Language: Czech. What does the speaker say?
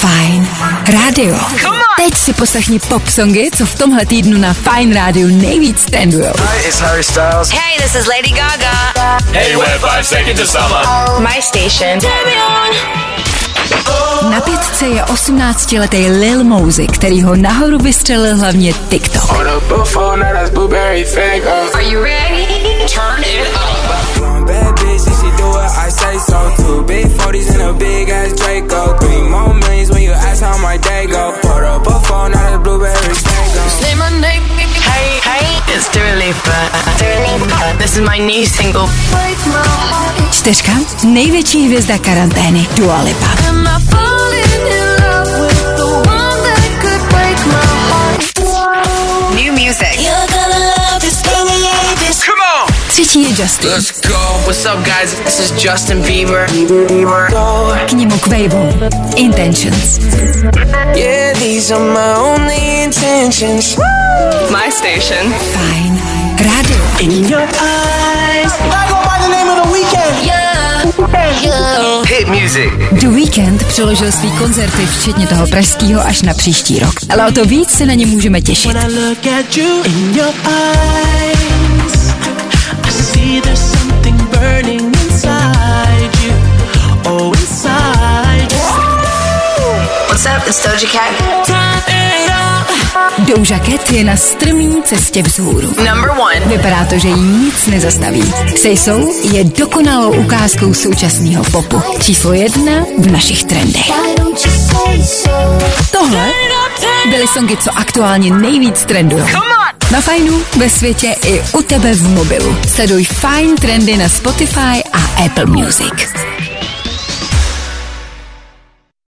Fajn rádio. Teď si poslechni popsongy, co v tomhle týdnu na Fajn rádiu nejvíc trendujou. Hi, it's Harry Styles. Hey, this is Lady Gaga. Hey, we're 5 seconds to summer. My station. Na 5 je 18letý Lil Mosey, který ho nahoru vystřelil hlavně TikTok. Are you ready? Turn it up. Bad bitch, she do what I say so. 2 big 40s and a big ass Draco. 3 more millions when you ask how my day go. Put up a phone, now the blueberry tango. Say my name. Hey, hey, it's Dua Lipa. This is my new single. 4. Největší hvězda karantény Dua Lipa. New music. Come on! 3. je Justin. Let's go. What's up, guys? This is Justin Bieber. K němu Quavo. Intentions. Yeah, these are my only intentions. My station. Fajn rádio. In your eyes. I go by the name of the weekend. Yeah. Hit music. The Weeknd přeložil svý koncerty, včetně toho pražskýho, až na příští rok. Ale o to víc se na ně můžeme těšit. When I look at you in your eyes, I see there's something burning inside you. Oh, inside you. What's up? It's Doja Cat. Doja Cat je na strmý cestě vzhůru. Number 1. Vypadá to, že jí nic nezastaví. Say So je dokonalou ukázkou současného popu. Číslo 1 v našich trendech. Tohle byly songy, co aktuálně nejvíc trendují. Na Fajnu, ve světě i u tebe v mobilu. Sleduj Fajn trendy na Spotify a Apple Music.